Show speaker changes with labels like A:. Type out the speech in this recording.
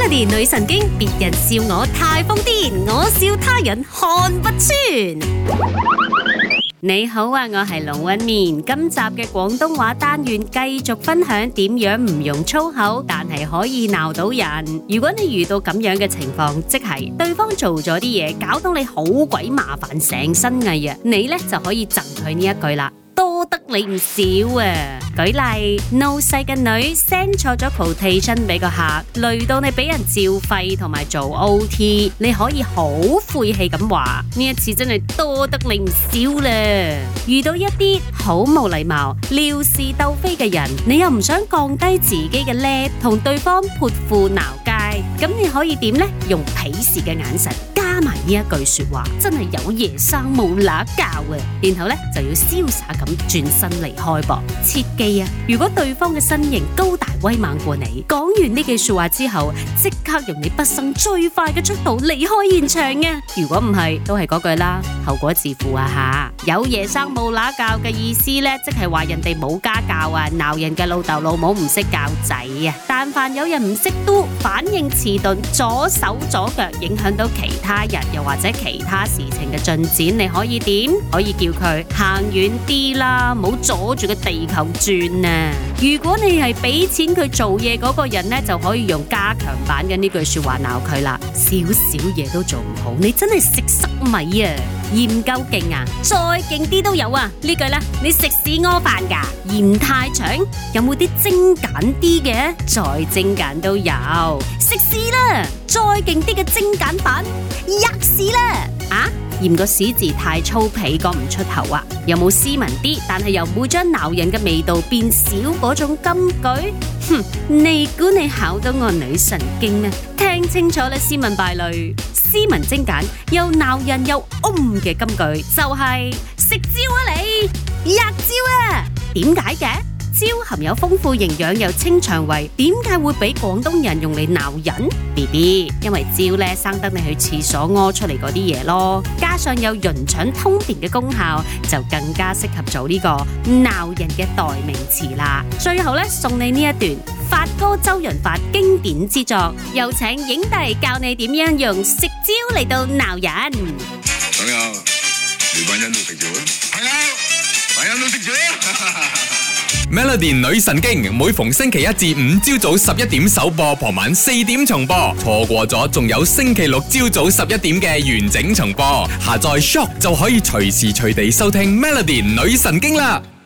A: Melody 女神經，別人笑我太瘋癲，我笑他人看不穿。你好啊，我係龍紋敏。今集嘅廣東話單元繼續分享點樣唔用粗口，但係可以鬧到人。如果你遇到咁樣嘅情況，即係對方做咗啲嘢，搞到你好鬼麻煩，成身蟻啊，你呢就可以贈佢呢一句啦。多得你唔少啊！舉例，老細嘅女 send 錯咗 quotation 俾個客，累到你俾人照肺同埋做 OT， 你可以好晦氣咁話：呢一次真係多得你唔少啦！遇到一啲好無禮貌、撩事鬥非嘅人，你又唔想降低自己嘅 level，同對方潑婦鬧街，咁你可以點呢？用鄙視嘅眼神加埋呢一句說話，真係有爺生冇乸教啊！然後呢，就要瀟灑咁轉身離開噃。切記啊，如果對方嘅身形高大威猛過你，講完呢句說話之後，即刻用你畢生最快嘅速度離開現場啊！如果唔係，都係嗰句啦，後果自負啊吓！有爺生冇乸教嘅意思呢，即係話人哋冇家教啊，鬧人嘅老豆老母唔識教仔啊！但凡有人唔識都反應遲鈍，左手左腳影響到其他人，又或者其他事情嘅進展，你可以點？可以叫佢行遠啲啦，唔好阻住個地球轉啊！如果你係俾錢佢做嘢嗰個人呢，就可以用加強版嘅呢句說話鬧佢啦。少少嘢都做唔好，你真係食塞米啊！嫌夠勁啊，再勁啲都有啊！呢句啦，你食屎屙飯噶？嫌太長，有冇啲精簡啲嘅？再精簡都有，食屎啦！再勁啲嘅精簡版，吔屎啦！啊？嫌個屎字太粗鄙，講唔出口啊？有冇斯文啲，但係又唔會將鬧人嘅味道變少嗰種金句？哼，你估你考到我女神經咩？聽清楚啦，斯文敗類，斯文精簡又鬧人又嘅金句就係食蕉啊你，吔蕉啊！點解嘅？蕉含有豐富營養又清腸胃，點解會俾廣東人用嚟鬧人 ？BB， 因為蕉咧生得你去廁所屙出嚟嗰啲嘢咯，加上有潤腸通便嘅功效，就更加適合做呢個鬧人嘅代名詞啦。最後咧送你呢一段發哥周潤發經典之作，有請影帝教你點樣用食蕉嚟到鬧人。
B: 朋友，你班人都食咗啦？朋友，班人都食咗。
C: Melody 女神經每逢星期一至五朝早11點首播，傍晚4點重播。錯過咗仲有星期六朝早11點嘅完整重播。下載 Shock 就可以隨時隨地收聽 Melody 女神經啦。